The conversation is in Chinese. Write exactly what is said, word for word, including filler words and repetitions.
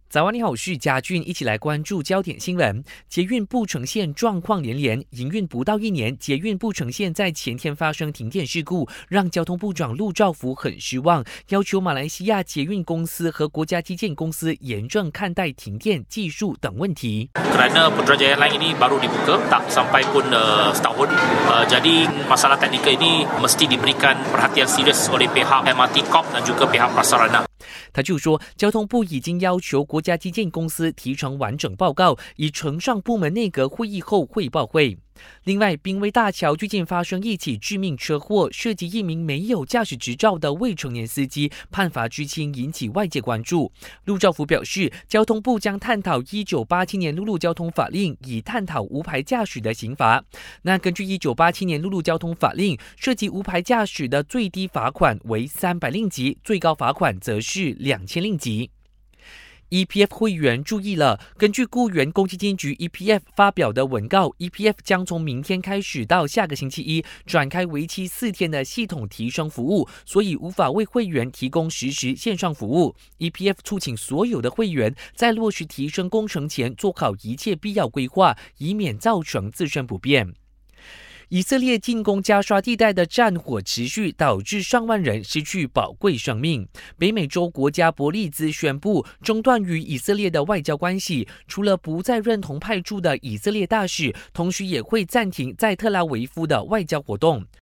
早安，你好，我是嘉俊，一起来关注焦点新闻。捷运布城线状况连连，营运不到一年，捷运布城线在前天发生停电事故，让交通部长陆兆福很失望，要求马来西亚捷运公司和国家基建公司严正看待停电技术等问题。 Kerana Putrajaya Airlines ini baru dibuka, tak sampai pun uh, setahun. Uh, jadi masalah teknikal ini mesti diberikan perhatian serius oleh pihak M R T Corp dan juga pihak prasarana. 他就说，交通部已经要求国家基建公司提成完整报告，以呈上部门内阁会议后汇报会。另外，濒危大桥最近发生一起致命车祸，涉及一名没有驾驶执照的未成年司机，判罚拘轻，引起外界关注。陆兆福表示，交通部将探讨一九八七年陆路交通法令，以探讨无牌驾驶的刑罚。那根据一九八七年陆路交通法令，涉及无牌驾驶的最低罚款为三百令吉，最高罚款则是两千令吉。E P F 会员注意了，根据雇员公积金局 E P F 发表的文告 ，E P F 将从明天开始到下个星期一展开为期四天的系统提升服务，所以无法为会员提供实时线上服务。E P F 促请所有的会员在落实提升工程前做好一切必要规划，以免造成自身不便。以色列进攻加沙地带的战火持续，导致上万人失去宝贵生命。北美洲国家伯利兹宣布中断与以色列的外交关系，除了不再认同派驻的以色列大使，同时也会暂停在特拉维夫的外交活动。